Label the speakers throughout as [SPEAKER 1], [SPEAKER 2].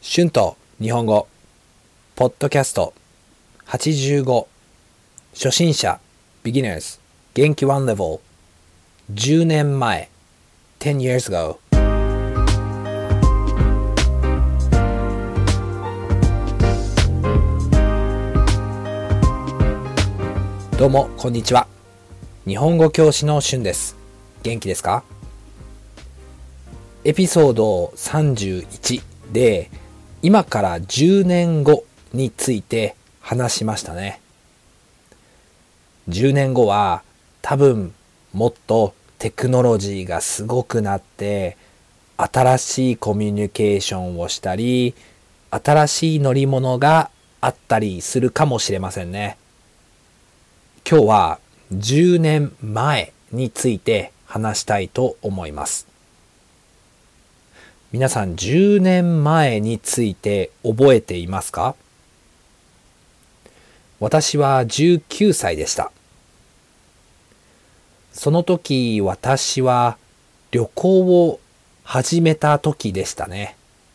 [SPEAKER 1] 春と日本語ポッドキャスト85初心者 Beginners 元気 One Level 10年前 10 years ago。 どうもこんにちは。日本語教師の春です。元気ですか？エピソード31で今から10年後について話しましたね。10年後は多分もっとテクノロジーがすごくなって新しいコミュニケーションをしたり新しい乗り物があったりするかもしれませんね。今日は10年前について話したいと思います。皆さん10年前について覚えていますか？私は19歳でした。その時私は旅行を始めた時でしたね。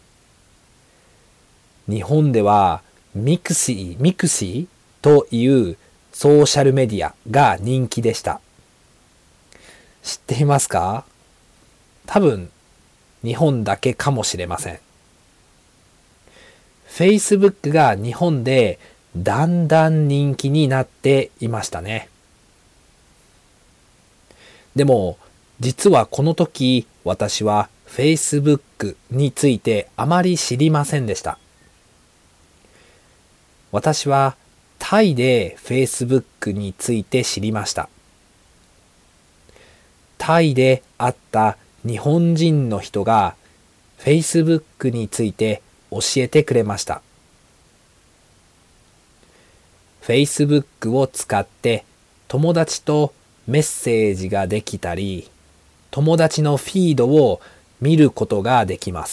[SPEAKER 1] 日本ではミクシーというソーシャルメディアが人気でした。知っていますか？多分日本だけかもしれません。Facebook が日本でだんだん人気になっていましたね。でも実はこの時私は Facebook についてあまり知りませんでした。私はタイで Facebook について知りました。タイで会った日本人の人が Facebook について教えてくれました。Facebook を使って友達とメッセージができたり、友達のフィードを見ることができます。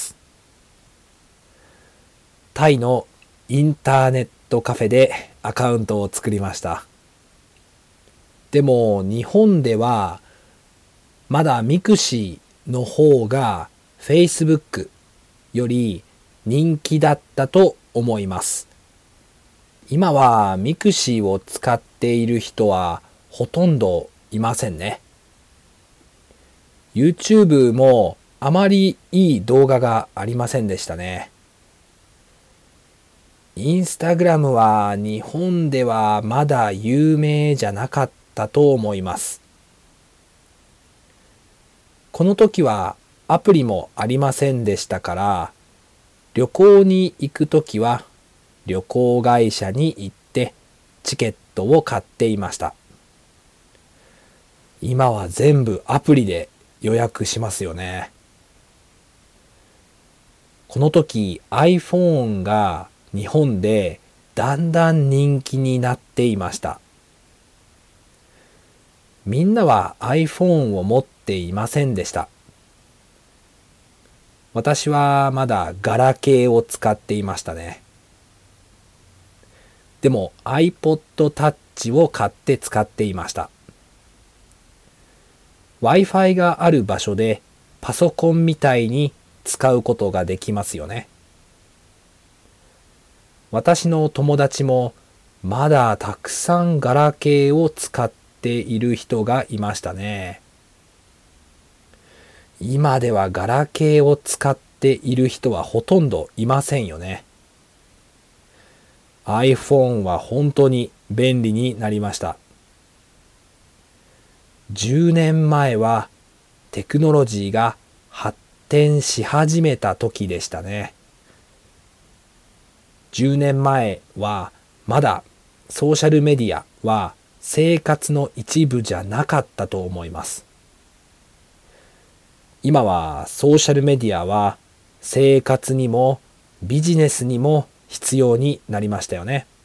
[SPEAKER 1] タイのインターネットカフェでアカウントを作りました。でも日本ではまだミクシーの方が Facebook より人気だったと思います。今はミクシーを使っている人はほとんどいませんね。YouTube もあまりいい動画がありませんでしたね。Instagram は日本ではまだ有名じゃなかったと思います。この時はアプリもありませんでしたから、旅行に行くときは旅行会社に行ってチケットを買っていました。今は全部アプリで予約しますよね。この時 iPhone が日本でだんだん人気になっていました。みんなは iPhone を持っていませんでした。私はまだガラケーを使っていましたね。でも iPod Touch を買って使っていました。Wi-Fi がある場所でパソコンみたいに使うことができますよね。私の友達もまだたくさんガラケーを使っている人がいましたね。今ではガラケーを使っている人はほとんどいませんよね。iPhone は本当に便利になりました。10年前はテクノロジーが発展し始めた時でしたね。10年前はまだソーシャルメディアは生活の一部じゃなかったと思います。今はソーシャルメディアは生活にもビジネスにも必要になりましたよね。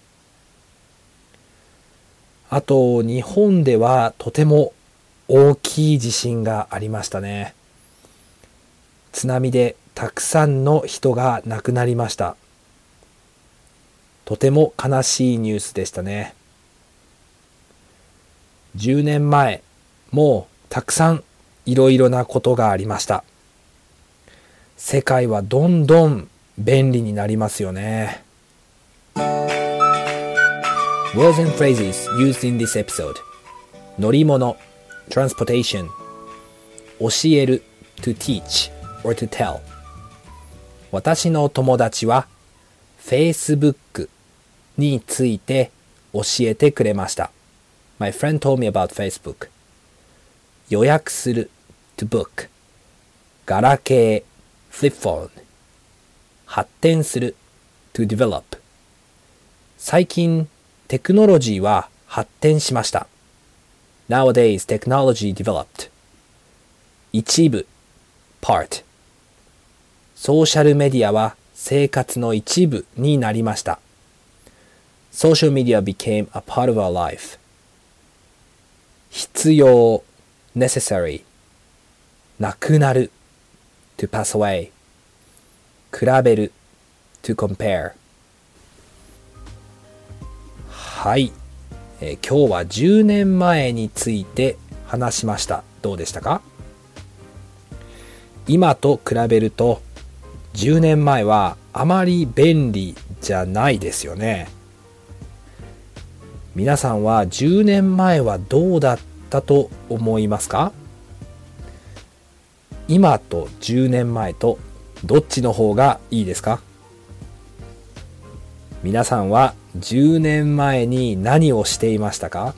[SPEAKER 1] あと日本ではとても大きい地震がありましたね。津波でたくさんの人が亡くなりました。とても悲しいニュースでしたね。10年前もたくさんいろいろなことがありました。世界はどんどん便利になりますよね。Words and phrases used in this episode. 乗り物 transportation 教える to teach or to tell 私の友達は Facebook について教えてくれました。 My friend told me about Facebook 予約する to book ガラケー flip phone 発展する to develop 最近テクノロジーは発展しました。 Nowadays technology developed 一部 part ソーシャルメディアは生活の一部になりました。 Social media became a part of our life 必要 necessary なくなる to pass away 比べる to compare はい、今日は10年前について話しました。どうでしたか？今と比べると10年前はあまり便利じゃないですよね。皆さんは10年前はどうだったと思いますか？今と10年前とどっちの方がいいですか？皆さんは10年前に何をしていましたか？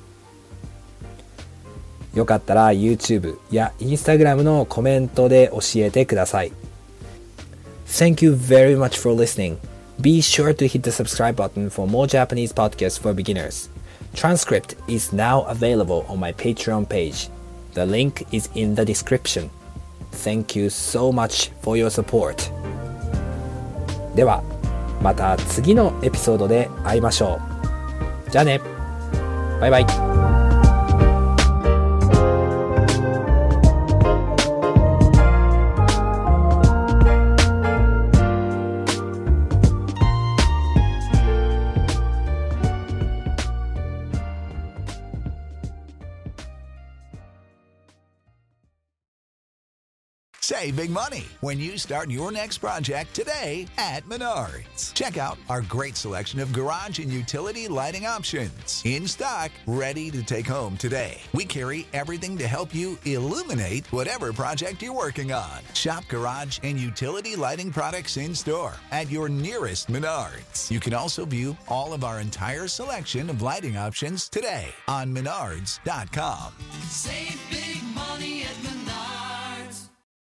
[SPEAKER 1] よかったら YouTube や Instagram のコメントで教えてください。Thank you very much for listening. Be sure to hit the subscribe button for more Japanese podcasts for beginners. Transcript is now available on my Patreon page. The link is in the description. Thank you so much for your support. ではまた次のエピソードで会いましょう。じゃあね。バイバイ。
[SPEAKER 2] Save big money when you start your next project today at Menards. Check out our great selection of garage and utility lighting options in stock, ready to take home today. We carry everything to help you illuminate whatever project you're working on. Shop garage and utility lighting products in store at your nearest Menards. You can also view all of our entire selection of lighting options today on Menards.com.
[SPEAKER 3] Save big